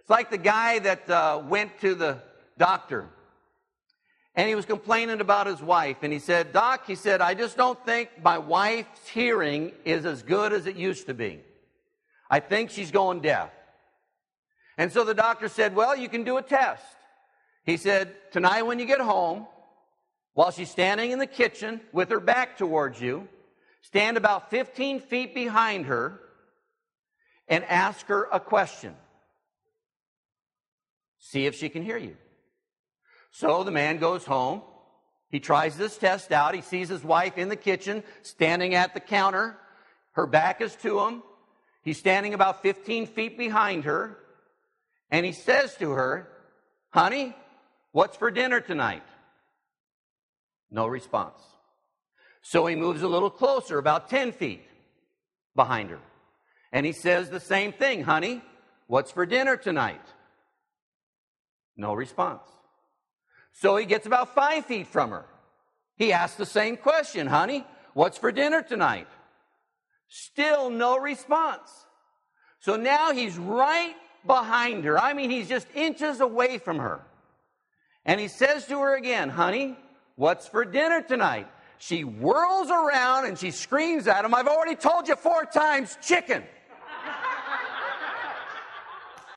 It's like the guy that went to the doctor, and he was complaining about his wife. And he said, Doc, he said, I just don't think my wife's hearing is as good as it used to be. I think she's going deaf. And so the doctor said, well, you can do a test. He said, tonight when you get home, while she's standing in the kitchen with her back towards you, stand about 15 feet behind her and ask her a question. See if she can hear you. So the man goes home. He tries this test out. He sees his wife in the kitchen, standing at the counter. Her back is to him. He's standing about 15 feet behind her. And he says to her, honey, what's for dinner tonight? No response. So he moves a little closer, about 10 feet behind her. And he says the same thing, honey, what's for dinner tonight? No response. So he gets about 5 feet from her. He asks the same question, honey, what's for dinner tonight? Still no response. So now he's right behind her. I mean, he's just inches away from her. And he says to her again, honey, what's for dinner tonight? She whirls around and she screams at him, I've already told you 4 times, chicken.